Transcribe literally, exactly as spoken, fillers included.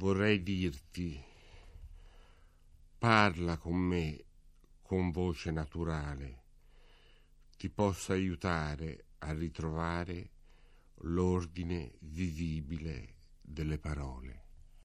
vorrei dirti, parla con me con voce naturale, ti possa aiutare a ritrovare l'ordine vivibile delle parole.